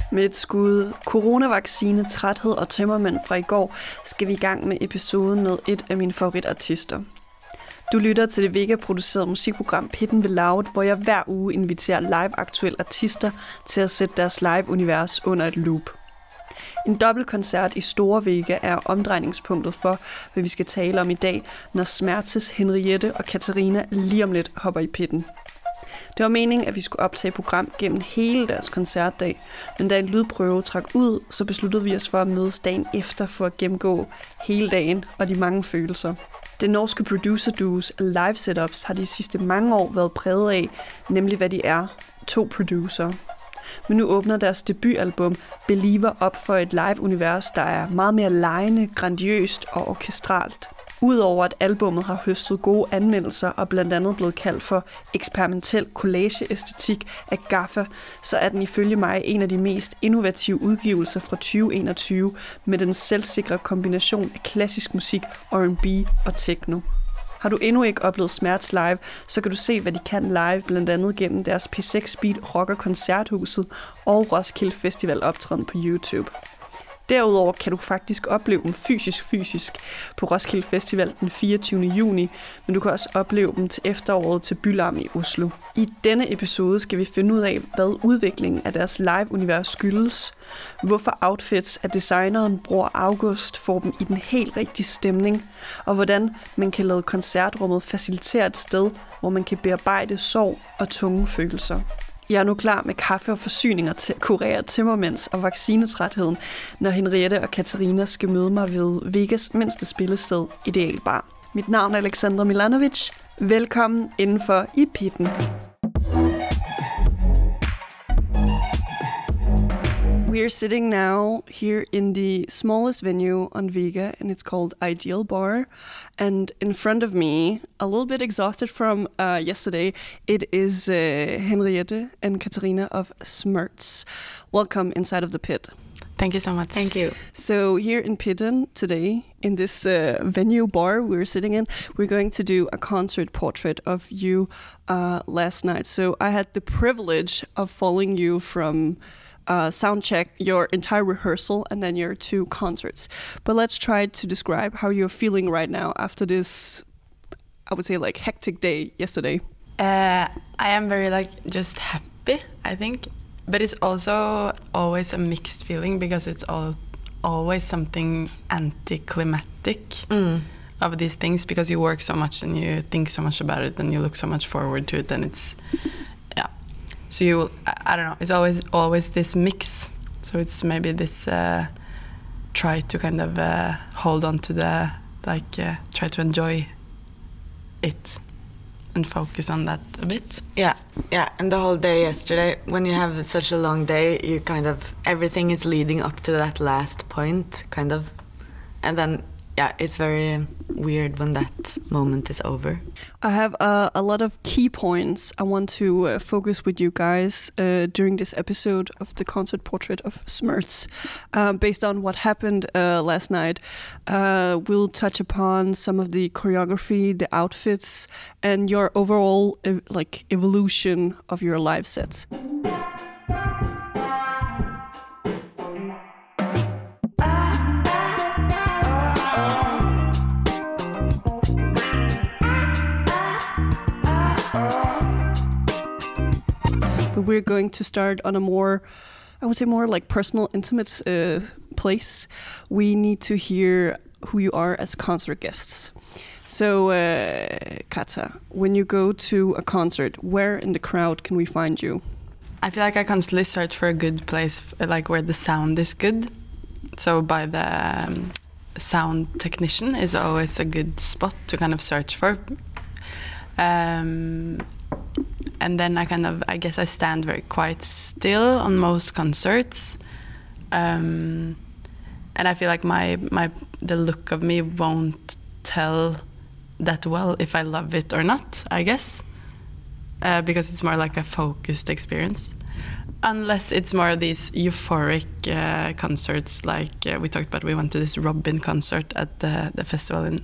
Med et skud coronavaccine, træthed og tømmermænd fra i går, skal vi i gang med episoden med et af mine favoritartister. Du lytter til det Vega-producerede musikprogram Pitten ved Loud, hvor jeg hver uge inviterer live-aktuelle artister til at sætte deres live-univers under et loop. En dobbeltkoncert i Store Vega er omdrejningspunktet for, hvad vi skal tale om i dag, når Smertes, Henriette og Katarina lige om lidt hopper i pitten. Det var meningen, at vi skulle optage program gennem hele deres koncertdag, men da en lydprøve trak ud, så besluttede vi os for at mødes dagen efter for at gennemgå hele dagen og de mange følelser. Det norske producer-duos live setups har de sidste mange år været præget af, nemlig hvad de er, 2 producer. Men nu åbner deres debutalbum Believer op for et live-univers, der er meget mere legende, grandiøst og orkestralt. Udover at albummet har høstet gode anmeldelser og blandt andet blevet kaldt for eksperimentel collageæstetik af Gaffa, så er den ifølge mig en af de mest innovative udgivelser fra 2021 med den selvsikre kombination af klassisk musik, R&B og techno. Har du endnu ikke oplevet Smerts live, så kan du se, hvad de kan live, blandt andet gennem deres P6 Beat Rocker Koncerthuset og Roskilde Festival optræden på YouTube. Derudover kan du faktisk opleve dem fysisk på Roskilde Festival den 24. juni, men du kan også opleve dem til efteråret til Bylarm i Oslo. I denne episode skal vi finde ud af, hvad udviklingen af deres live-univers skyldes, hvorfor outfits af designeren Bror August får dem i den helt rigtige stemning, og hvordan man kan lade koncertrummet facilitere et sted, hvor man kan bearbejde sorg og tunge følelser. Jeg er nu klar med kaffe og forsyninger til at kurere tømmermænds og vaccinetrætheden, når Henriette og Katarina skal møde mig ved Vegas mindste spillested, Ideal Bar. Mit navn er Alexandra Milanovic. Velkommen indenfor i pitten. We are sitting now here in the smallest venue on Vega, and it's called Ideal Bar. And in front of me, a little bit exhausted from yesterday, it is Henriette and Katarina of Smerts. Welcome inside of the pit. Thank you so much. Thank you. So here in Pitten today, in this venue bar we're sitting in, we're going to do a concert portrait of you last night. So I had the privilege of following you from sound check, your entire rehearsal, and then your 2 concerts. But let's try to describe how you're feeling right now after this, I would say, like hectic day yesterday. I am very just happy, I think, but it's also always a mixed feeling because it's always something anticlimactic of these things because you work so much and you think so much about it and you look so much forward to it, and it's so I don't know, it's always this mix. So it's maybe this try to kind of hold on to the, try to enjoy it and focus on that a bit. Yeah. And the whole day yesterday, when you have such a long day, you kind of, everything is leading up to that last point, kind of. And then, it's very weird when that moment is over. I have a lot of key points I want to focus with you guys during this episode of the concert portrait of Smerts. Based on what happened last night, we'll touch upon some of the choreography, the outfits, and your overall evolution of your live sets. We're going to start on a more, I would say, more like personal, intimate place. We need to hear who you are as concert guests. So, Kata, when you go to a concert, where in the crowd can we find you? I feel like I constantly search for a good place, where the sound is good. So by the sound technician is always a good spot to kind of search for. And then I guess I stand very quite still on most concerts. And I feel like the look of me won't tell that well if I love it or not, I guess. Because it's more like a focused experience. Unless it's more of these euphoric concerts, like we talked about, we went to this Robin concert at the festival in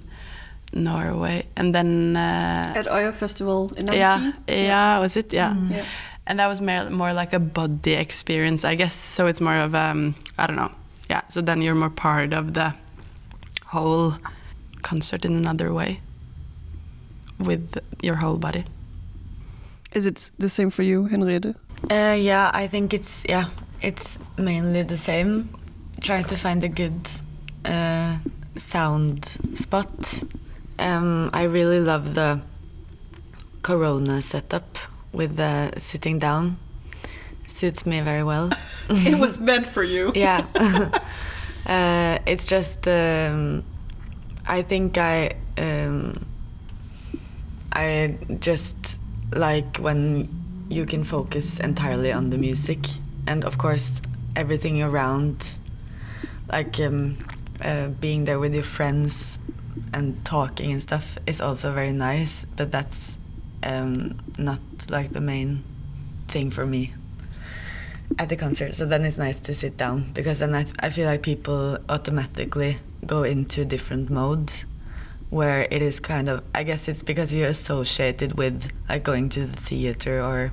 Norway, and then at Øya Festival in 19. Yeah, was it? Yeah. Mm. Yeah. And that was more like a body experience, I guess. So it's more of, I don't know. Yeah, so then you're more part of the whole concert in another way with your whole body. Is it the same for you, Henriette? Yeah, I think it's mainly the same. Trying to find a good sound spot. I really love the Corona setup with the sitting down. Suits me very well. It was meant for you. Yeah. It's just I think I just like when you can focus entirely on the music, and of course everything around, like being there with your friends and talking and stuff is also very nice, but that's not like the main thing for me at the concert. So then it's nice to sit down, because then I feel like people automatically go into different modes where it is kind of, I guess it's because you're associated with like going to the theater or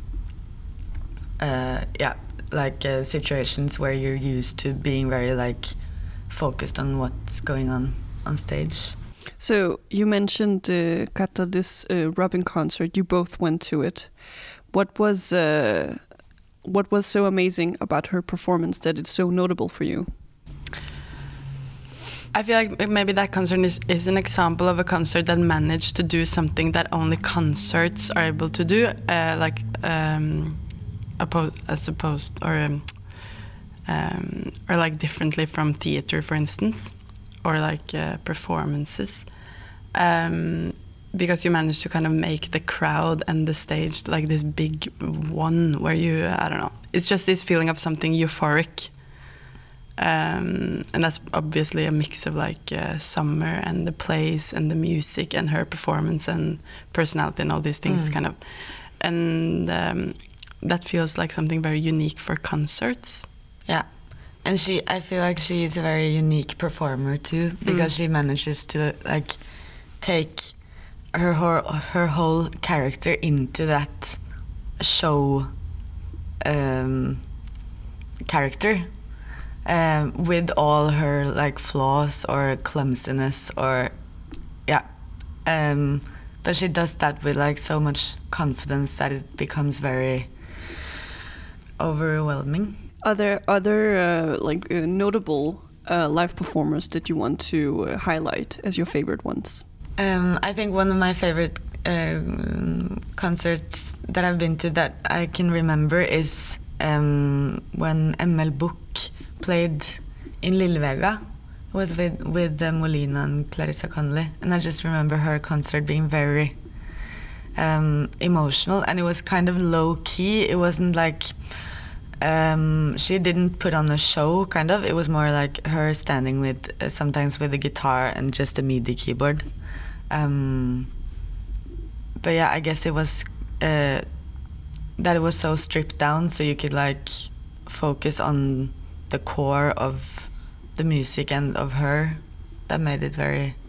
situations where you're used to being very like focused on what's going on stage. So you mentioned Kata, this Robyn concert. You both went to it. What was so amazing about her performance that it's so notable for you? I feel like maybe that concert is an example of a concert that managed to do something that only concerts are able to do, or like differently from theater, for instance, or like performances, because you managed to kind of make the crowd and the stage like this big one where you, I don't know, it's just this feeling of something euphoric. And that's obviously a mix of like Summer and the place and the music and her performance and personality and all these things kind of. And that feels like something very unique for concerts. Yeah. And I feel like she is a very unique performer too, because she manages to like take her whole character into that show character. With all her like flaws or clumsiness or but she does that with like so much confidence that it becomes very overwhelming. Are there other notable live performers that you want to highlight as your favorite ones? I think one of my favorite concerts that I've been to that I can remember is when ML Book played in Lillevega. It was with Molina and Clarissa Connolly, and I just remember her concert being very emotional, and it was kind of low key. It wasn't like she didn't put on a show, kind of. It was more like her standing with sometimes with a guitar and just a MIDI keyboard. But yeah, I guess it was that it was so stripped down, so you could like focus on the core of the music and of her. That made it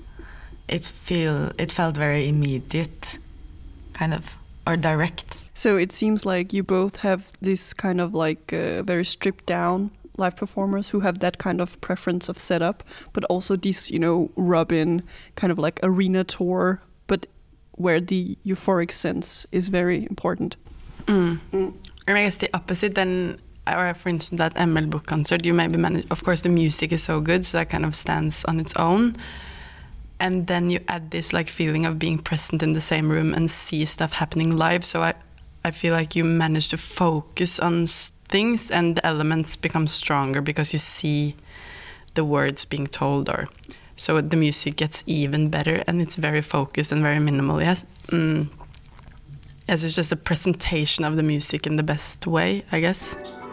it felt very immediate, kind of, or direct. So it seems like you both have this kind of like very stripped down live performers who have that kind of preference of setup, but also these, Robyn kind of like arena tour, but where the euphoric sense is very important. And I guess the opposite then, or for instance that ML Book concert, you maybe manage, of course the music is so good, so that kind of stands on its own, and then you add this like feeling of being present in the same room and see stuff happening live. So I feel like you manage to focus on things and the elements become stronger because you see the words being told, or so the music gets even better and it's very focused and very minimal. Yes. Yes, it's just a presentation of the music in the best way, I guess.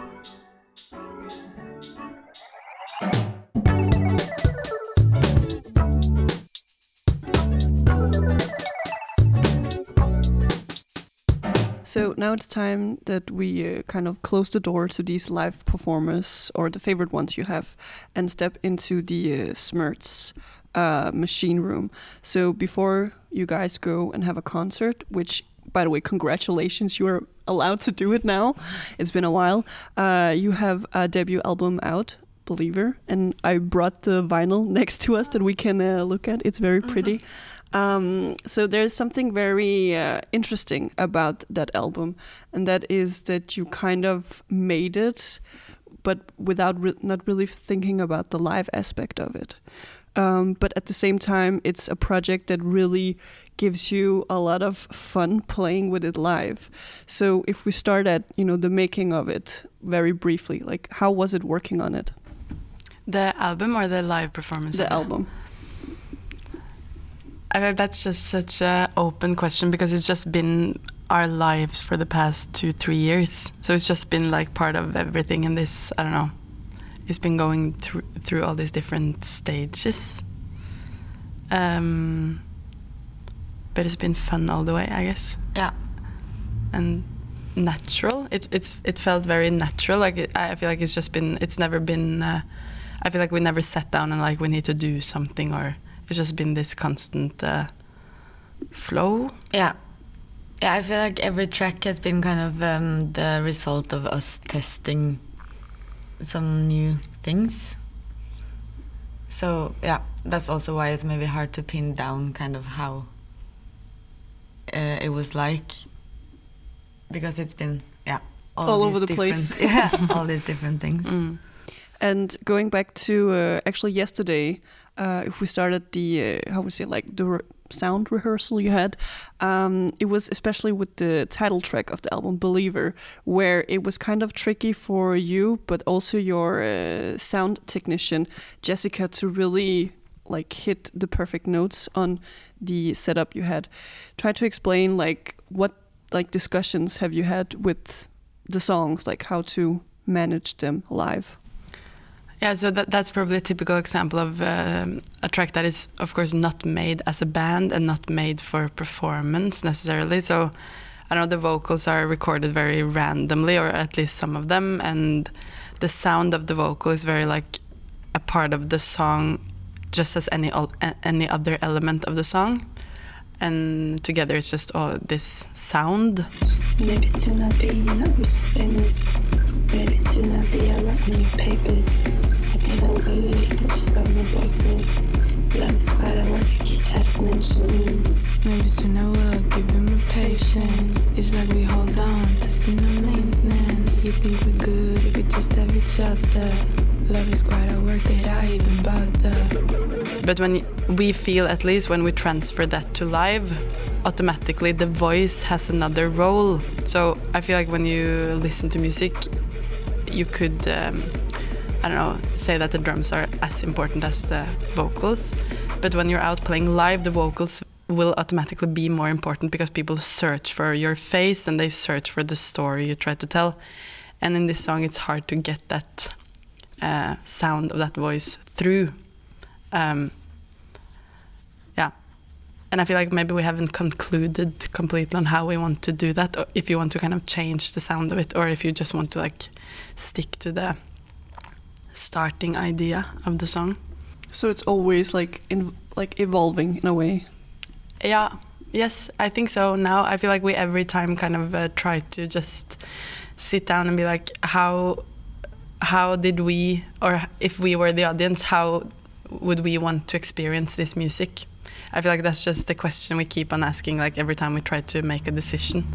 So now it's time that we kind of close the door to these live performers, or the favorite ones you have, and step into the Smerts machine room. So before you guys go and have a concert, which, by the way, congratulations, you are allowed to do it now. It's been a while. You have a debut album out, Believer, and I brought the vinyl next to us that we can look at. It's very pretty. So there's something very interesting about that album, and that is that you kind of made it, but without not really thinking about the live aspect of it. But at the same time, it's a project that really gives you a lot of fun playing with it live. So if we start at, the making of it very briefly, like how was it working on it? The album or the live performance? The album. I think that's just such an open question because it's just been our lives for the past 2-3 years. So it's just been like part of everything in this, I don't know. It's been going through all these different stages. But it's been fun all the way, I guess. Yeah. And natural. It felt very natural. I feel like it's never been, I feel like we never sat down and like we need to do something, or it's just been this constant flow. Yeah. Yeah, I feel like every track has been kind of the result of us testing some new things. So yeah, that's also why it's maybe hard to pin down kind of how it was like, because it's been all over the place. Yeah, all these different things. And going back to actually yesterday, if we started the the sound rehearsal you had, it was especially with the title track of the album Believer, where it was kind of tricky for you, but also your sound technician Jessica, to really like hit the perfect notes on the setup you had. Try to explain like what like discussions have you had with the songs, like how to manage them live. Yeah, so that's probably a typical example of a track that is, of course, not made as a band and not made for performance necessarily. So, I know the vocals are recorded very randomly, or at least some of them, and the sound of the vocal is very like a part of the song, just as any other element of the song. And together it's just all this sound. Maybe soon I'll be not rich famous. Maybe soon I'll be a lot new papers. I think I'm good, I just got my boyfriend. Love is quite a work, I keep abstination. Maybe soon I will give him a patience. It's like we hold on, testing the maintenance. You think we're good if we just have each other. Love is quite a work that I even bother. But when we feel, at least when we transfer that to live, automatically the voice has another role. So I feel like when you listen to music, you could, I don't know, say that the drums are as important as the vocals. But when you're out playing live, the vocals will automatically be more important because people search for your face and they search for the story you try to tell. And in this song, it's hard to get that sound of that voice through. And I feel like maybe we haven't concluded completely on how we want to do that, or if you want to kind of change the sound of it, or if you just want to like stick to the starting idea of the song. So it's always like evolving in a way. Yeah, yes, I think so. Now I feel like we every time kind of try to just sit down and be like, how did we, or if we were the audience, how would we want to experience this music? I feel like that's just the question we keep on asking, like every time we try to make a decision.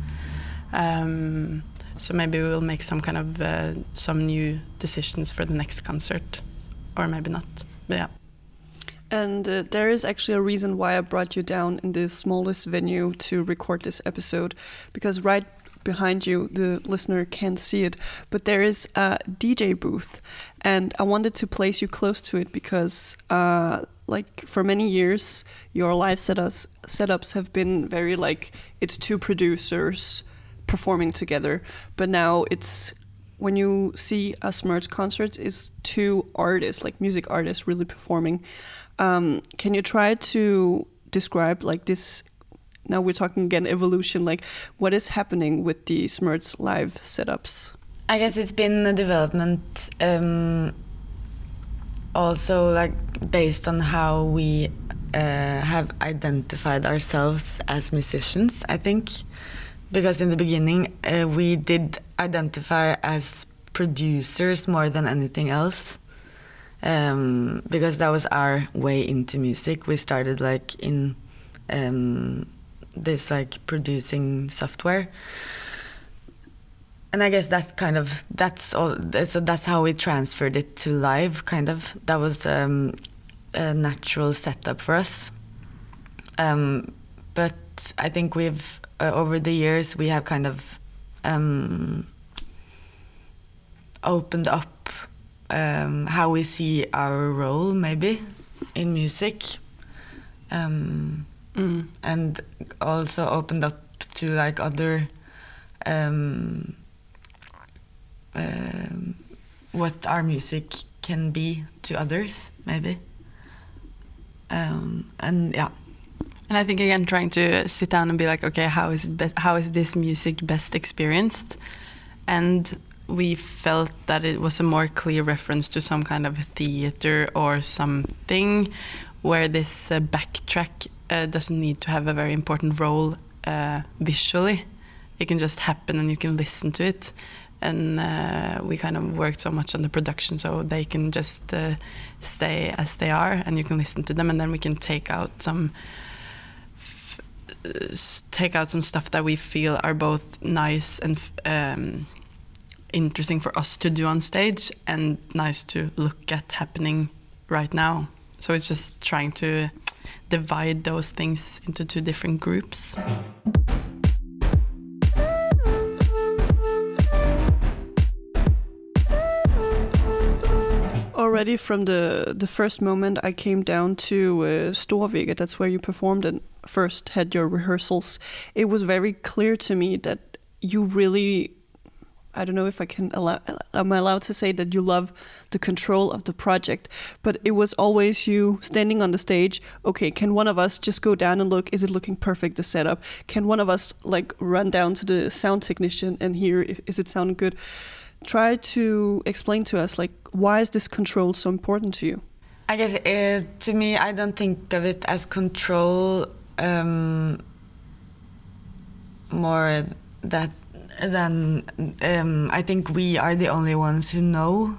So maybe we will make some kind of some new decisions for the next concert, or maybe not. But yeah. And there is actually a reason why I brought you down in the smallest venue to record this episode, because right behind you, the listener can't see it, but there is a DJ booth, and I wanted to place you close to it because like for many years your live setups have been very like it's two producers performing together, but now it's, when you see a Smurds concert, it's two artists, like music artists, really performing. Can you try to describe like this? Now we're talking again evolution, like what is happening with the Smurds live setups? I guess it's been a development also like based on how we have identified ourselves as musicians, I think. because in the beginning we did identify as producers more than anything else, because that was our way into music. We started like in this like producing software, and I guess that's all. So that's how we transferred it to live. Kind of that was a natural setup for us. But I think we've over the years we have kind of opened up how we see our role maybe in music, and also opened up to like other what our music can be to others maybe, and yeah. And I think again, trying to sit down and be like, okay, how is this music best experienced? And we felt that it was a more clear reference to some kind of theater or something, where this backtrack doesn't need to have a very important role visually. It can just happen and you can listen to it. And we kind of worked so much on the production, so they can just stay as they are, and you can listen to them, and then we can take out some stuff that we feel are both nice and interesting for us to do on stage and nice to look at happening right now. So it's just trying to divide those things into two different groups. Already from the first moment I came down to Storvega, that's where you performed and first had your rehearsals, it was very clear to me that you really, I don't know if am I allowed to say that you love the control of the project, but it was always you standing on the stage, okay, can one of us just go down and look, is it looking perfect, the setup? Can one of us like run down to the sound technician and hear, is it sounding good? Try to explain to us, like, why is this control so important to you? I guess to me, I don't think of it as control more than I think we are the only ones who know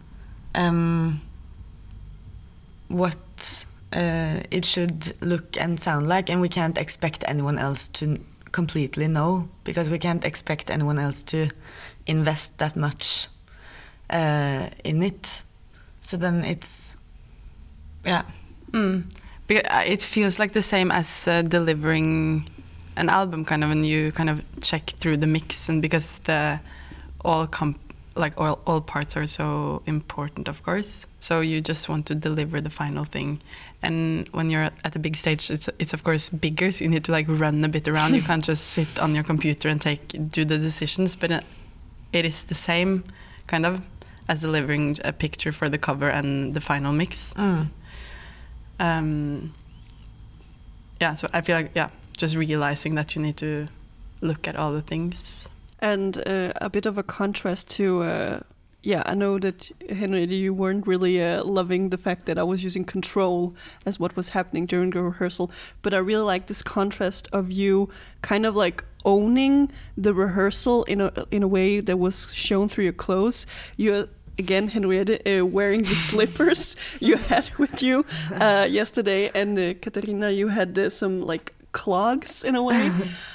what it should look and sound like, and we can't expect anyone else to completely know, because we can't expect anyone else to invest that much in it. So then it's, yeah. Because it feels like the same as delivering an album, kind of, and you kind of check through the mix, and because all parts are so important, of course. So you just want to deliver the final thing. And when you're at a big stage, it's of course bigger, so you need to like run a bit around. You can't just sit on your computer and do the decisions, but it is the same kind of as delivering a picture for the cover and the final mix. Yeah, so I feel like, just realizing that you need to look at all the things. And a bit of a contrast to, I know that, Henriette, you weren't really loving the fact that I was using control as what was happening during the rehearsal, but I really like this contrast of you kind of like owning the rehearsal in a way that was shown through your clothes. You're, again, Henriette, wearing the slippers you had with you yesterday, and Katarina, you had some like clogs in a way.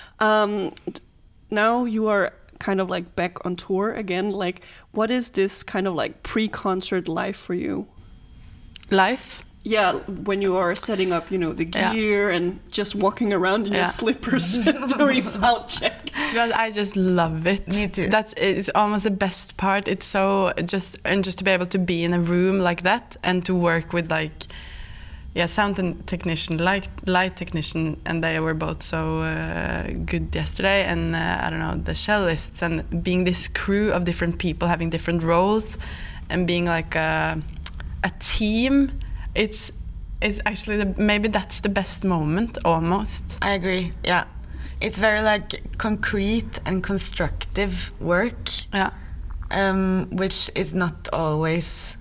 Now you are kind of like back on tour again. Like, what is this kind of like pre-concert life for you? Life? Yeah, when you are setting up, the gear and just walking around in your slippers during sound check. To be honest, I just love it. Me too. It's almost the best part. It's so just to be able to be in a room like that and to work with like, sound technician, light technician, and they were both so good yesterday. And I don't know, the cellists, and being this crew of different people having different roles, and being like a team. It's actually maybe that's the best moment almost. I agree. Yeah, it's very like concrete and constructive work. Yeah, which is not always.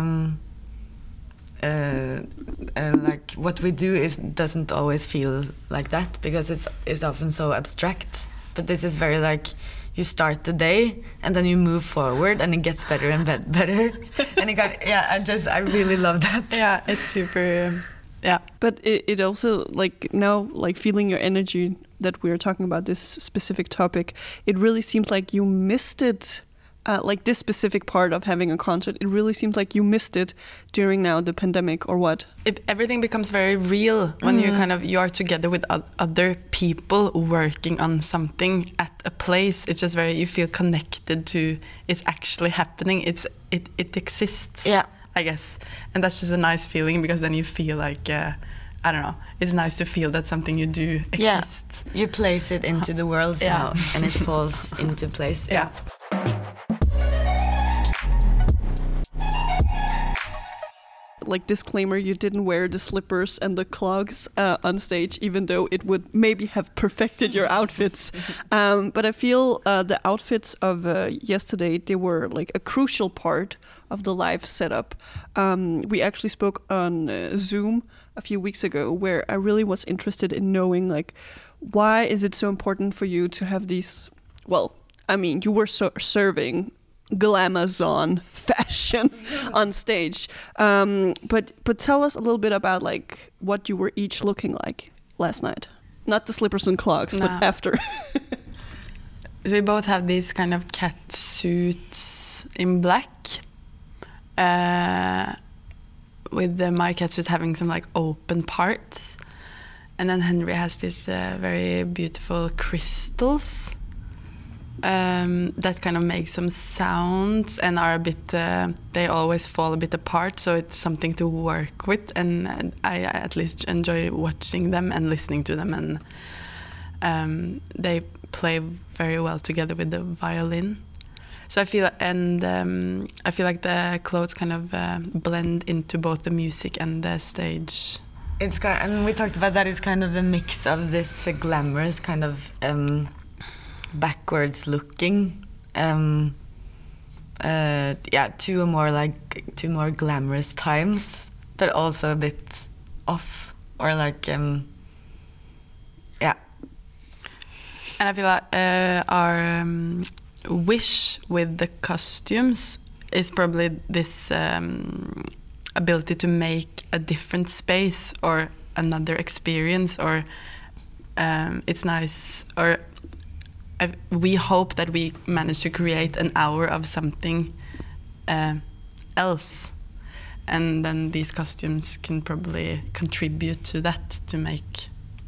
Like what we do doesn't always feel like that, because it's often so abstract. But this is very like you start the day and then you move forward and it gets better and better. And it got I really love that. Yeah, it's super. Yeah, but it also like now like feeling your energy that we're talking about this specific topic. It really seems like you missed it. Like this specific part of having a concert, it really seems like you missed it during now the pandemic, or what? Everything becomes very real when you are together with other people working on something at a place. It's just you feel connected to it's actually happening. It exists. Yeah, I guess, and that's just a nice feeling because then you feel like I don't know. It's nice to feel that something you do exists. Yeah, you place it into the world somehow, and it falls into place. Yeah. Like disclaimer, you didn't wear the slippers and the clogs on stage, even though it would maybe have perfected your outfits. But I feel the outfits of yesterday, they were like a crucial part of the live setup. We actually spoke on Zoom a few weeks ago, where I really was interested in knowing like why is it so important for you to have these. Well, I mean, you were serving glamazon fashion on stage, but tell us a little bit about like what you were each looking like last night. Not the slippers and clogs, but after. So we both have these kind of cat suits in black, with my cat suit having some like open parts, and then Henry has these very beautiful crystals that kind of make some sounds and are a bit, they always fall a bit apart, so it's something to work with, and I at least enjoy watching them and listening to them, and they play very well together with the violin. So I feel, and I feel like the clothes kind of blend into both the music and the stage. It's kind of, and we talked about that. It's kind of a mix of this glamorous kind of backwards looking, two more glamorous times, but also a bit off, or like And I feel like our wish with the costumes is probably this ability to make a different space or another experience, or it's nice, or we hope that we manage to create an hour of something else, and then these costumes can probably contribute to that, to make.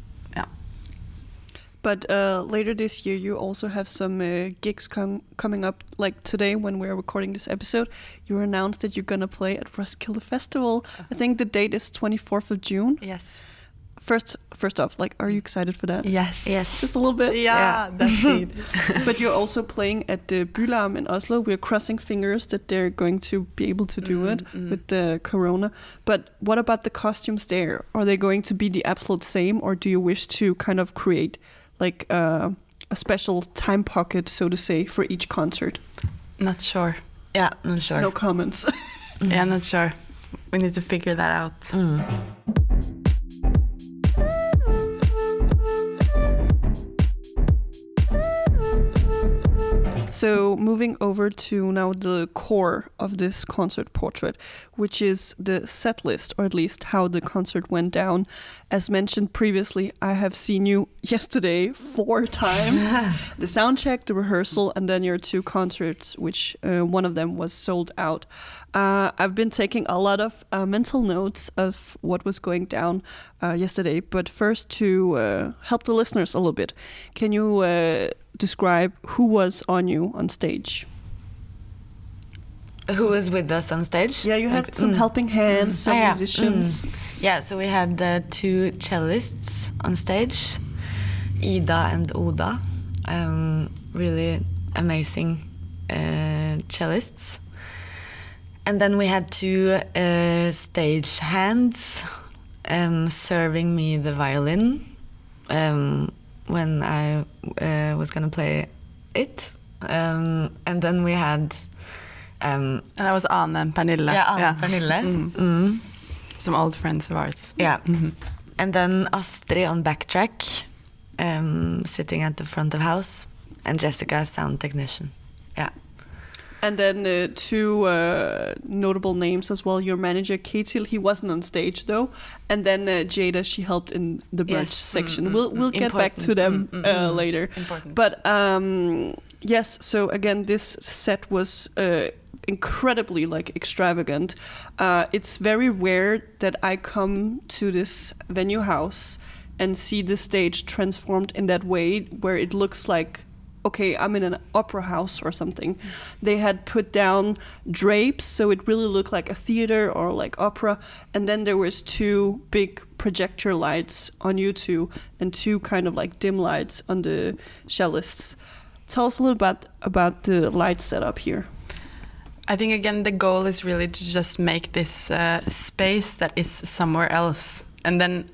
But later this year, you also have some gigs coming up. Like today, when we're recording this episode, you announced that you're gonna play at Roskilde Festival. I think the date is 24th of June. Yes. First off, like, are you excited for that? Yes. Just a little bit. Yeah. That's it. But you're also playing at the Bylarm in Oslo. We're crossing fingers that they're going to be able to do it with the corona. But what about the costumes there? Are they going to be the absolute same, or do you wish to kind of create like a special time pocket, so to say, for each concert? Not sure. Yeah, not sure. No comments. Yeah, not sure. We need to figure that out. So moving over to now the core of this concert portrait, which is the set list, or at least how the concert went down. As mentioned previously, I have seen you yesterday 4 times. The sound check, the rehearsal, and then your 2 concerts, which one of them was sold out. I've been taking a lot of mental notes of what was going down yesterday. But first, to help the listeners a little bit, can you describe who was on you on stage? Who was with us on stage? Yeah, you had some helping hands, some musicians. Yeah, so we had 2 cellists on stage, Ida and Oda, really amazing cellists. And then we had 2 stage hands serving me the violin when I was going to play it. And then we had... and that was Anne and Pernille. Yeah, Anne and Pernille. Some old friends of ours. Yeah. And then Astrid on backtrack. sitting at the front of house, and Jessica as sound technician. Yeah. And then two notable names as well. Your manager, Ketil, he wasn't on stage though. And then Jada, she helped in the merch section. We'll get back to them later. Important. But yes, so again, this set was incredibly like extravagant. It's very rare that I come to this venue house and see the stage transformed in that way, where it looks like, okay, I'm in an opera house or something. They had put down drapes, so it really looked like a theater or like opera. And then there was two big projector lights on you two, and two kind of like dim lights on the cellists. Tell us a little bit about the light setup here. I think again the goal is really to just make this space that is somewhere else, and then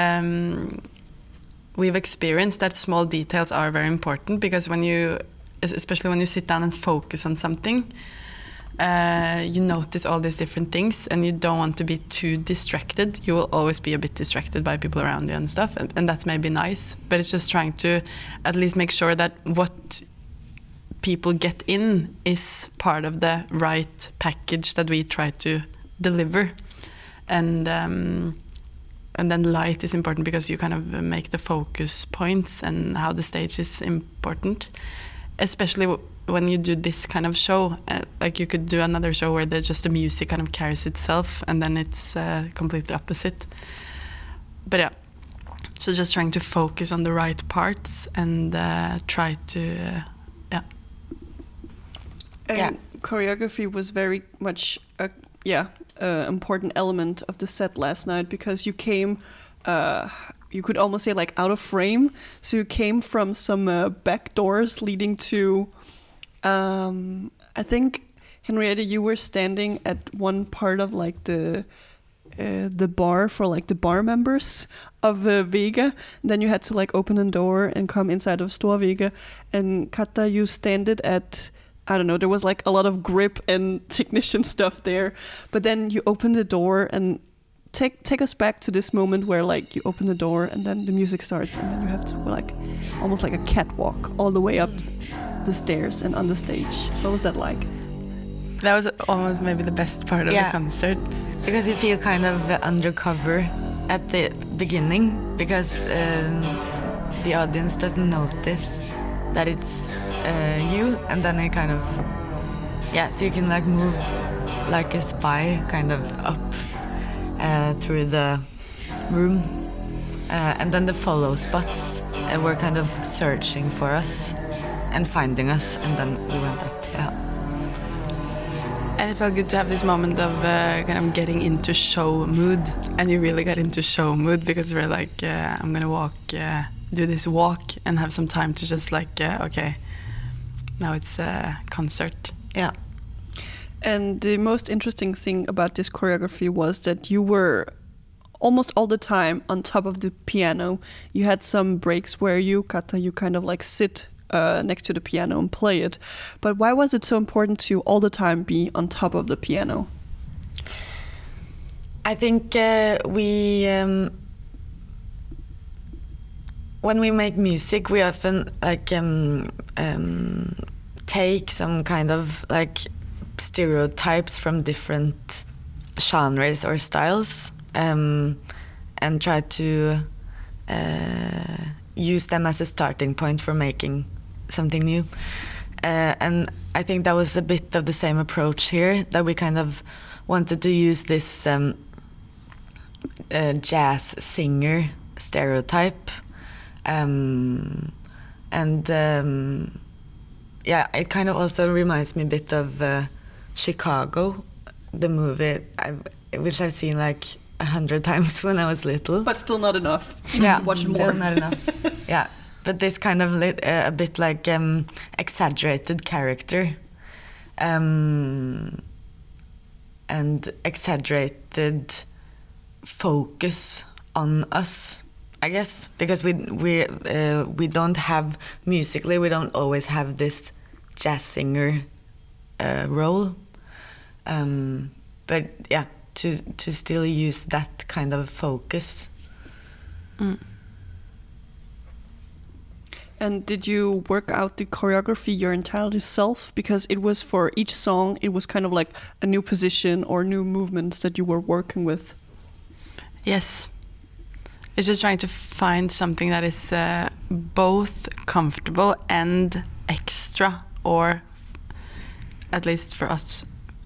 we've experienced that small details are very important, because especially when you sit down and focus on something, you notice all these different things, and you don't want to be too distracted. You will always be a bit distracted by people around you and stuff, and that's maybe nice, but it's just trying to at least make sure that what people get in is part of the right package that we try to deliver. And then light is important, because you kind of make the focus points, and how the stage is important, especially when you do this kind of show. Like you could do another show where just the music kind of carries itself, and then it's completely opposite. But yeah, so just trying to focus on the right parts and try to And choreography was very much important element of the set last night, because you came, you could almost say like out of frame. So you came from some back doors leading to, I think, Henriette, you were standing at one part of like the bar for like the bar members of Vega. Then you had to like open a door and come inside of Stor Vega. And Katta, you standed at, I don't know, there was like a lot of grip and technician stuff there. But then you open the door, and take us back to this moment where like you open the door and then the music starts, and then you have to like almost like a catwalk all the way up the stairs and on the stage. What was that like? That was almost maybe the best part of the concert. Because you feel kind of undercover at the beginning, because the audience doesn't notice that it's you, and then it kind of, so you can like move like a spy kind of up through the room, and then the follow spots were kind of searching for us and finding us, and then we went up. And it felt good to have this moment of kind of getting into show mood, and you really got into show mood, because we're like, I'm gonna walk, do this walk, and have some time to just like, okay, now it's a concert. Yeah. And the most interesting thing about this choreography was that you were almost all the time on top of the piano. You had some breaks where you, Katta, you kind of like sit next to the piano and play it. But why was it so important to all the time be on top of the piano? I think we, when we make music, we often like take some kind of like stereotypes from different genres or styles, and try to use them as a starting point for making something new. And I think that was a bit of the same approach here, that we kind of wanted to use this jazz singer stereotype. It kind of also reminds me a bit of Chicago, the movie, which I've seen like 100 times when I was little. But still not enough. Watch more. Still not enough. Yeah, but this kind of a bit like exaggerated character, and exaggerated focus on us, I guess, because we don't have musically, we don't always have this jazz singer role, but yeah, to still use that kind of focus. And did you work out the choreography your entirely self? Because it was for each song, it was kind of like a new position or new movements that you were working with. Yes. It's just trying to find something that is both comfortable and extra, or at least for us,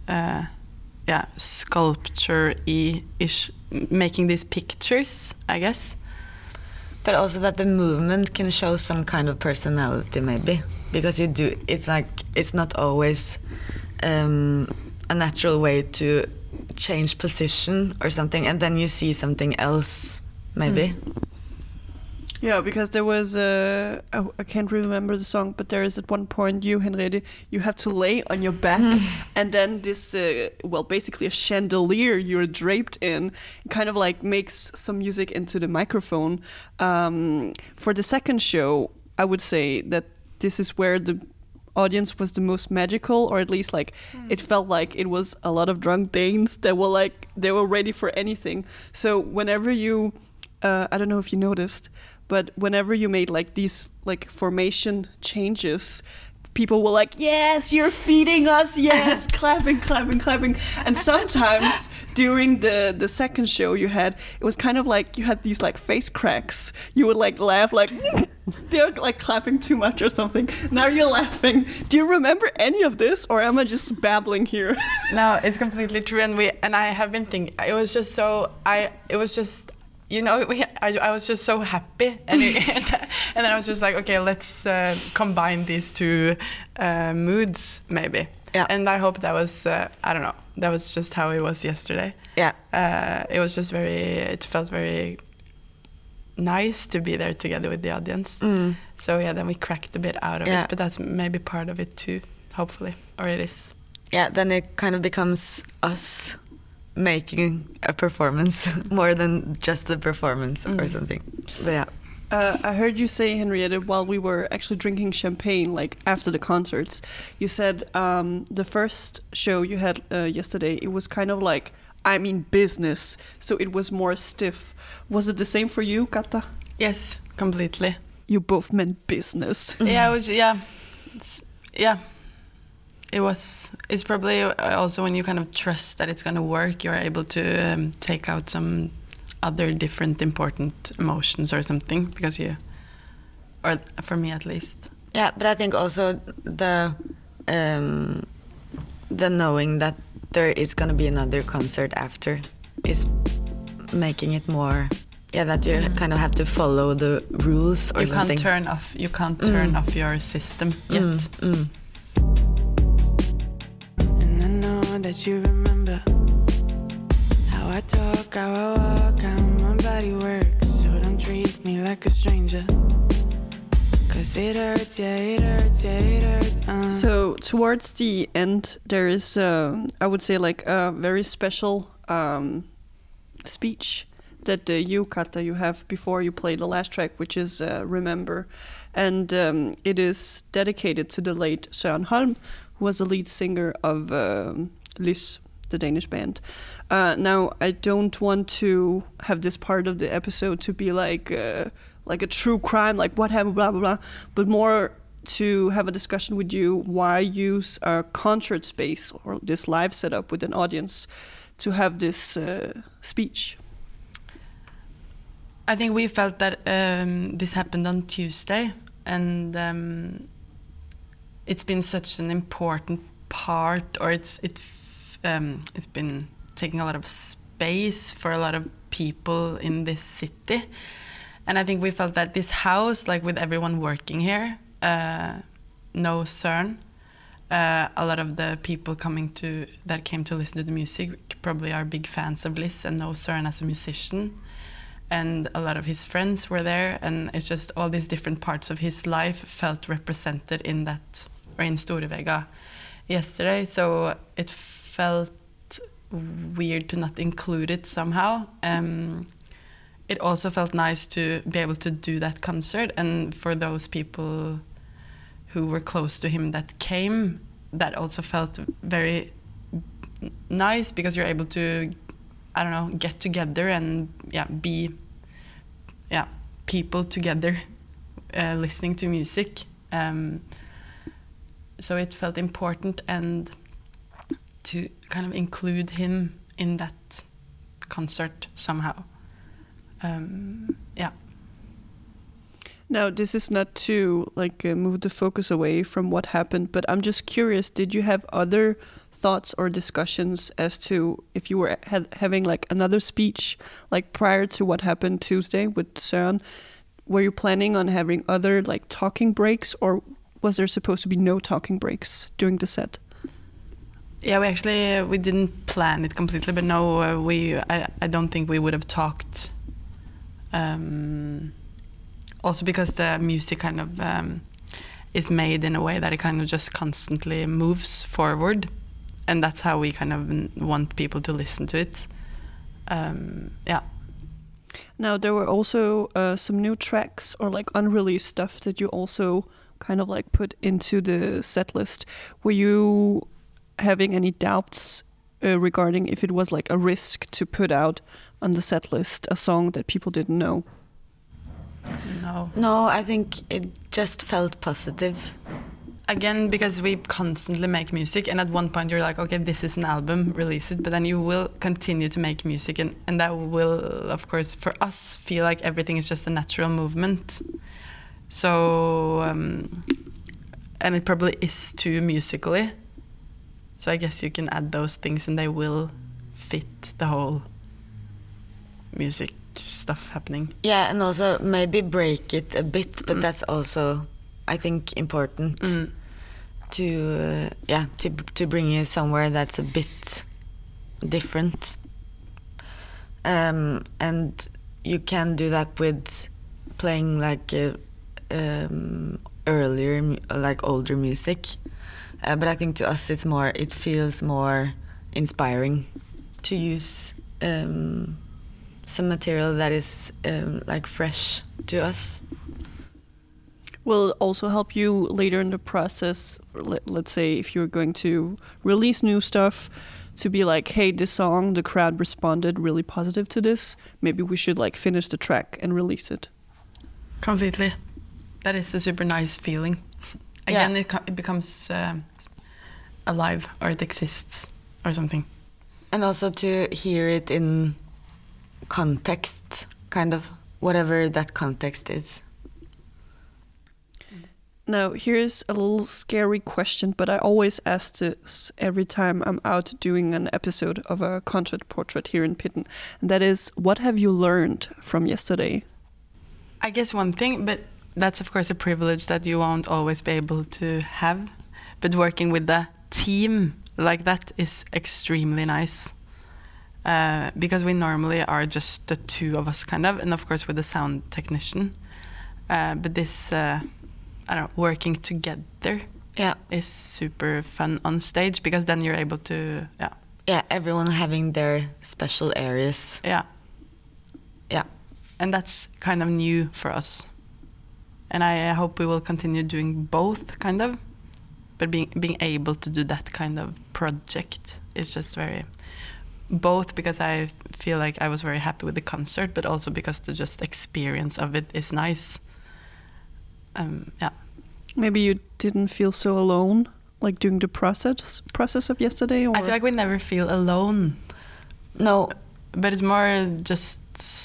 sculpture-ish, making these pictures, I guess. But also that the movement can show some kind of personality, maybe, because it's like it's not always a natural way to change position or something, and then you see something else, maybe. Yeah, because there was I can't remember the song, but there is at one point you, Henriette, you have to lay on your back, and then this, basically a chandelier you're draped in, kind of like makes some music into the microphone. For the second show, I would say that this is where the audience was the most magical, or at least like it felt like it was a lot of drunk Danes that were like, they were ready for anything. So whenever you, I don't know if you noticed, but whenever you made like these like formation changes, people were like, yes, you're feeding us, yes, clapping. And sometimes during the second show you had, it was kind of like you had these like face cracks. You would like laugh like, they're like clapping too much or something. Now you're laughing. Do you remember any of this, or am I just babbling here? No, it's completely true. And I have been thinking, I was just so happy, and then I was just like, okay, let's combine these two moods, maybe. Yeah. And I hope that was, I don't know, that was just how it was yesterday. Yeah. It was just it felt very nice to be there together with the audience. So yeah, then we cracked a bit out of it, but that's maybe part of it too, hopefully, or it is. Yeah, then it kind of becomes us making a performance more than just the performance or something. But yeah. I heard you say, Henriette, while we were actually drinking champagne, like after the concerts, you said the first show you had yesterday, it was kind of like, business. So it was more stiff. Was it the same for you, Kata? Yes, completely. You both meant business. Yeah, it was, It's probably also when you kind of trust that it's going to work, you're able to take out some other different important emotions or something, because or for me at least. Yeah, but I think also the knowing that there is going to be another concert after is making it more, that you kind of have to follow the rules or something. You can't turn off your system yet. That you remember how I talk, how I walk, how my body works. So don't treat me like a stranger, 'cause it hurts, it hurts. So towards the end, there is, I would say, like a very special speech that you, Kata, you have before you play the last track, which is Remember. And it is dedicated to the late Søren Holm, who was the lead singer of Lis, the Danish band. Now, I don't want to have this part of the episode to be like a true crime, like what happened, blah, blah, blah, but more to have a discussion with you why use a concert space or this live setup with an audience to have this speech. I think we felt that this happened on Tuesday, and it's been such an important part, or it's been taking a lot of space for a lot of people in this city. And I think we felt that this house, like with everyone working here, no Søren, a lot of the people that came to listen to the music probably are big fans of Lis and know Søren as a musician. And a lot of his friends were there, and it's just all these different parts of his life felt represented in that, or in Storevega yesterday. So it felt weird to not include it somehow. It also felt nice to be able to do that concert, and for those people who were close to him that came, that also felt very nice, because you're able to, I don't know, get together and be people together listening to music. So it felt important and to kind of include him in that concert somehow. Yeah. Now, this is not to move the focus away from what happened, but I'm just curious, did you have other thoughts or discussions as to if you were having like another speech, like prior to what happened Tuesday with Søren? Were you planning on having other like talking breaks, or was there supposed to be no talking breaks during the set? Yeah, we didn't plan it completely, but no, I don't think we would have talked. Also because the music kind of is made in a way that it kind of just constantly moves forward, and that's how we kind of want people to listen to it. Yeah. Now, there were also some new tracks or like unreleased stuff that you also kind of like put into the set list. Were you having any doubts regarding if it was like a risk to put out on the set list a song that people didn't know? No, I think it just felt positive. Again, because we constantly make music, and at one point you're like, okay, this is an album, release it, but then you will continue to make music, and that will, of course, for us, feel like everything is just a natural movement. So, and it probably is too musically. So I guess you can add those things and they will fit the whole music stuff happening. Yeah, and also maybe break it a bit, but that's also, I think, important to bring you somewhere that's a bit different. And you can do that with playing like earlier, like older music. But I think to us it feels more inspiring to use some material that is like fresh to us. Will it also help you later in the process, let's say if you're going to release new stuff, to be like, hey, this song, the crowd responded really positive to this, maybe we should like finish the track and release it? Completely. That is a super nice feeling. Again, it becomes alive, or it exists or something. And also to hear it in context, kind of, whatever that context is. Now, here's a little scary question, but I always ask this every time I'm out doing an episode of a concert portrait here in Pitten. And that is, what have you learned from yesterday? I guess one thing, but that's of course a privilege that you won't always be able to have. But working with the team like that is extremely nice. Because we normally are just the two of us kind of, and of course with the sound technician. But this... I don't know, working together is super fun on stage, because then you're able to, everyone having their special areas. And that's kind of new for us. And I hope we will continue doing both, kind of. But being able to do that kind of project is just very... Both because I feel like I was very happy with the concert, but also because the just experience of it is nice. Maybe you didn't feel so alone, like during the process of yesterday? Or? I feel like we never feel alone. No. But it's more just...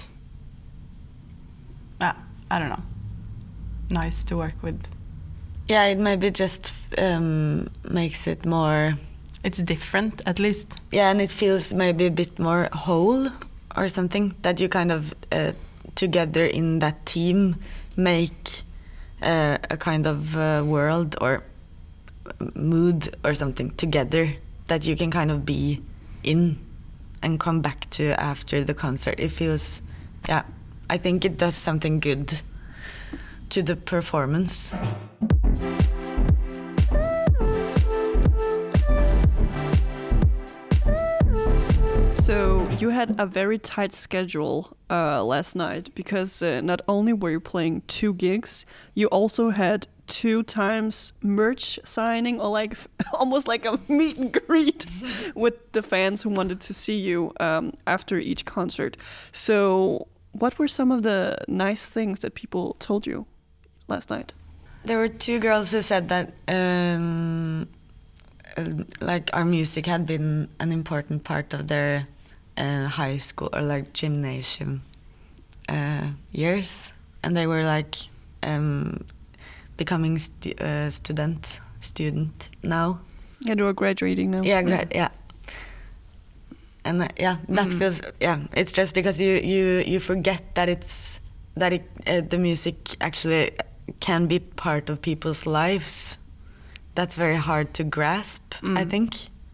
I don't know. Nice to work with. Yeah, it maybe just makes it more... It's different, at least. Yeah, and it feels maybe a bit more whole or something, that you kind of, together in that team, make a kind of world or mood or something together that you can kind of be in and come back to after the concert. It feels, I think it does something good to the performance. So you had a very tight schedule last night, because not only were you playing 2 gigs, you also had 2 times merch signing, or like almost like a meet and greet with the fans who wanted to see you after each concert. So what were some of the nice things that people told you? last night? There were 2 girls who said that like our music had been an important part of their high school or like gymnasium years, and they were like becoming student now. Yeah, they were graduating now. Yeah, yeah. And that feels it's just because you forget that the music actually can be part of people's lives. That's very hard to grasp, I think.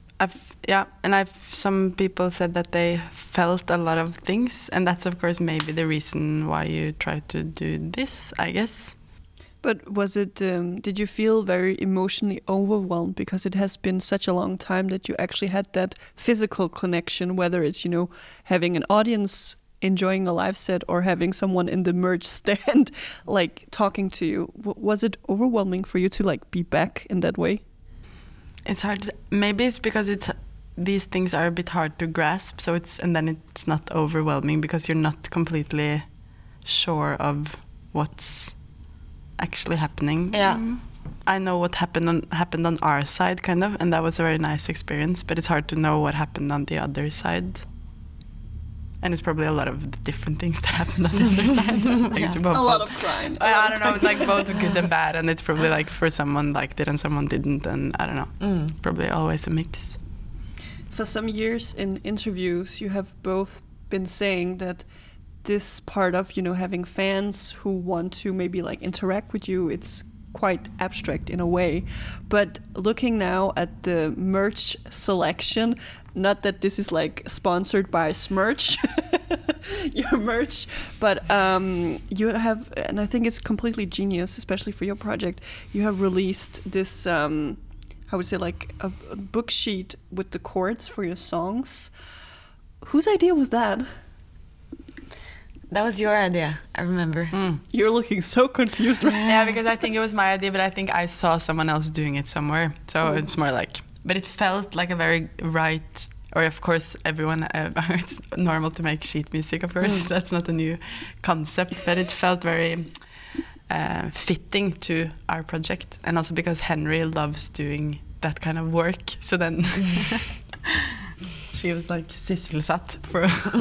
Some people said that they felt a lot of things, and that's of course maybe the reason why you try to do this, I guess. But was it? Did you feel very emotionally overwhelmed because it has been such a long time that you actually had that physical connection, whether it's having an audience enjoying a live set or having someone in the merch stand like talking to you? Was it overwhelming for you to like be back in that way? It's hard. Maybe it's because these things are a bit hard to grasp. So it's not overwhelming because you're not completely sure of what's actually happening. Yeah. I know what happened on our side, kind of, and that was a very nice experience. But it's hard to know what happened on the other side. And it's probably a lot of different things that happened on the other side. Like, a lot of crying. I don't know, like both good and bad. And it's probably like for someone liked it and someone didn't. And I don't know, probably always a mix. For some years in interviews, you have both been saying that this part of, having fans who want to maybe like interact with you, it's quite abstract in a way. But looking now at the merch selection, not that this is like sponsored by Smerch, your merch, but you have, and I think it's completely genius, especially for your project, you have released this, I would say like a book sheet with the chords for your songs. Whose idea was that? That was your idea, I remember. You're looking so confused right now. Yeah, because I think it was my idea, but I think I saw someone else doing it somewhere. So it's more like, but it felt like a very right, or of course everyone, it's normal to make sheet music, of course. That's not a new concept, but it felt very fitting to our project. And also because Henry loves doing that kind of work. So then... She was like sysselsatt for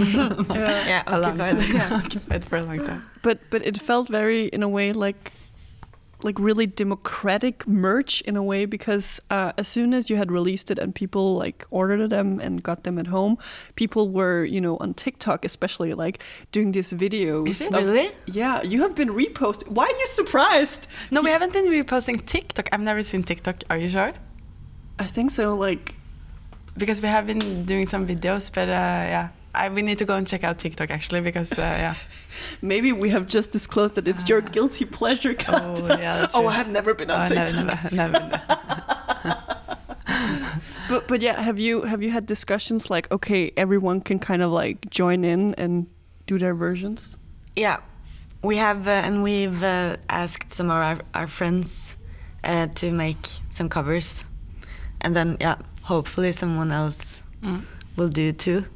occupied for a long time. But it felt very, in a way, like really democratic merch in a way, because as soon as you had released it and people like ordered them and got them at home, people were, on TikTok especially, like doing these videos. Is it really? Yeah, you have been reposting. Why are you surprised? No, we haven't been reposting TikTok. I've never seen TikTok. Are you sure? I think so. Like. Because we have been doing some videos, but we need to go and check out TikTok actually, because Maybe we have just disclosed that it's your guilty pleasure content. Oh, yeah, that's true. I have never been on TikTok. Never. But yeah, have you had discussions like, okay, everyone can kind of like join in and do their versions? Yeah, we have, and we've asked some of our friends to make some covers, and then hopefully someone else will do too.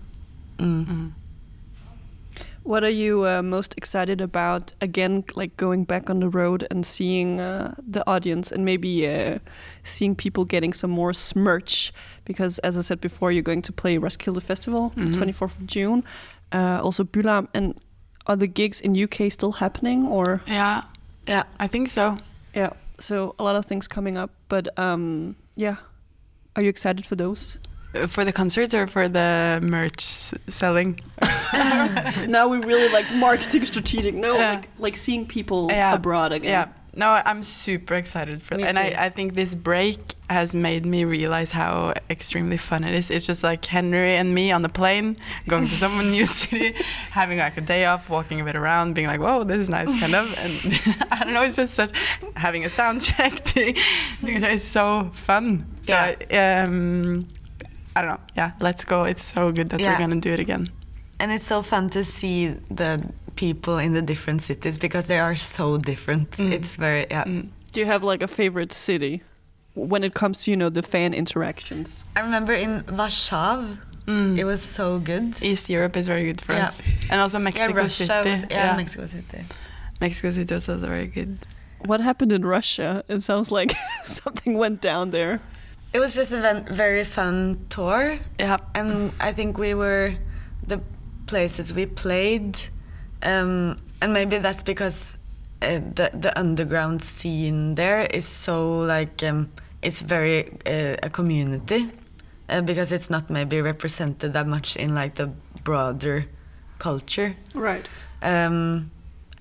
What are you most excited about, again, like going back on the road and seeing the audience and maybe seeing people getting some more smerch? Because as I said before, you're going to play Roskilde Festival, 24th of June, also Bylarm. And are the gigs in UK still happening, or? Yeah, I think so. Yeah, so a lot of things coming up, but are you excited for those? For the concerts or for the merch selling? Now we really like marketing strategic. No, like seeing people abroad again. Yeah. No, I'm super excited for that. And I think this break has made me realize how extremely fun it is. It's just like Henry and me on the plane, going to some new city, having like a day off, walking a bit around, being like, whoa, this is nice, kind of. And I don't know, it's just such, having a sound check, it's so fun. So, I don't know. Yeah, let's go. It's so good that we're going to do it again. And it's so fun to see the people in the different cities because they are so different. It's very, Do you have like a favorite city when it comes to, the fan interactions? I remember in Warsaw, it was so good. East Europe is very good for us. And also Mexico City. Mexico City. Mexico City was also very good. What happened in Russia? It sounds like something went down there. It was just a very fun tour. Yeah. And I think the places we played, and maybe that's because the underground scene there is so like, it's very a community, because it's not maybe represented that much in like the broader culture. Right. And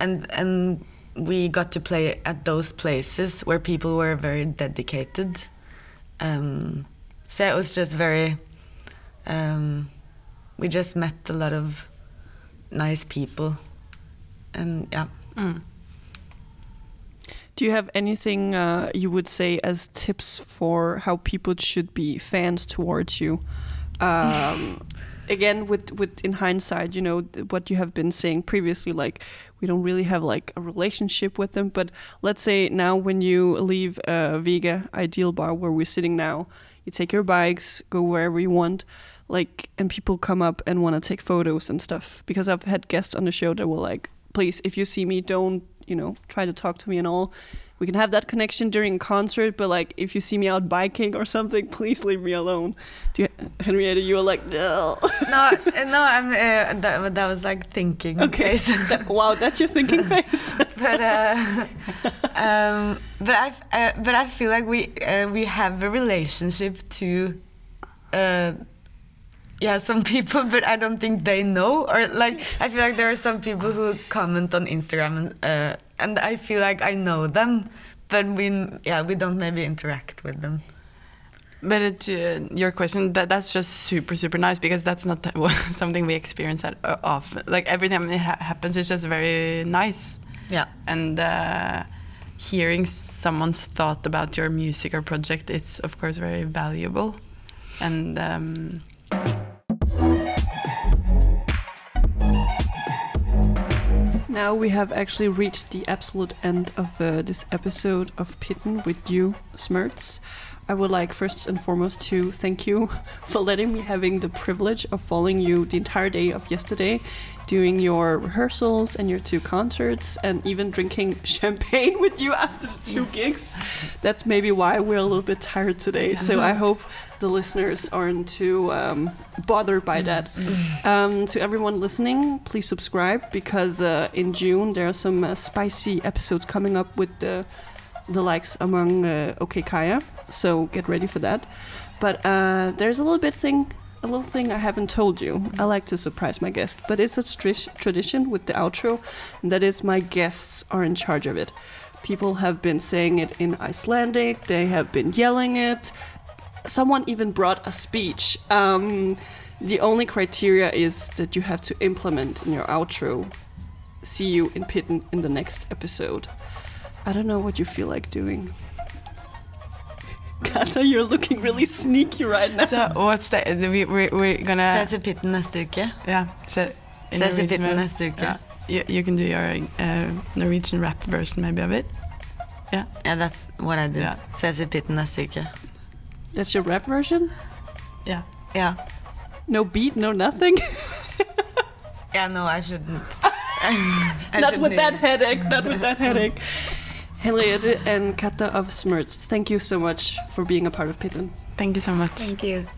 we got to play at those places where people were very dedicated. So it was just very, we just met a lot of nice people, and yeah. Do you have anything you would say as tips for how people should be fans towards you? Again, with in hindsight, you know, what you have been saying previously, like we don't really have like a relationship with them. But let's say now when you leave Vega Ideal Bar, where we're sitting now, you take your bikes, go wherever you want, like, and people come up and want to take photos and stuff. Because I've had guests on the show that were like, please, if you see me, don't, you know, try to talk to me and all. We can have that connection during a concert, but like if you see me out biking or something, please leave me alone. Henriette, you were like, no. No, I'm. That was like thinking. Okay. Face. Wow, that's your thinking face. But I feel like we have a relationship to. Some people, but I don't think they know. Or like, I feel like there are some people who comment on Instagram, and I feel like I know them, but we don't maybe interact with them. But your question, that's just super nice, because that's not something we experience that often. Like every time it happens, it's just very nice. Yeah. And hearing someone's thought about your music or project, it's of course very valuable. And now we have actually reached the absolute end of this episode of Pitten with you, Smerts. I would like first and foremost to thank you for letting me having the privilege of following you the entire day of yesterday, doing your rehearsals and your 2 concerts, and even drinking champagne with you after the 2 gigs. That's maybe why we're a little bit tired today. So I hope the listeners aren't too bothered by that. To everyone listening, please subscribe, because in June there are some spicy episodes coming up with the likes among OK Kaya. So get ready for that. But there's a little thing I haven't told you. I like to surprise my guests, but it's a tradition with the outro, and that is my guests are in charge of it. People have been saying it in Icelandic, they have been yelling it. Someone even brought a speech. The only criteria is that you have to implement in your outro. See you in Pitten in the next episode. I don't know what you feel like doing. Kata, you're looking really sneaky right now. so what's the we're gonna Ses i Pitten neste uke. yeah Ses i Pitten neste uke. You can do your Norwegian rap version maybe of it. Yeah, That's what I did. Yeah. Ses i Pitten neste uke. That's your rap version? yeah. Yeah. No beat, no nothing? Yeah, no, I shouldn't. Not with that headache. Henriette and Kata of Smerts, thank you so much for being a part of Pitten. Thank you so much. Thank you.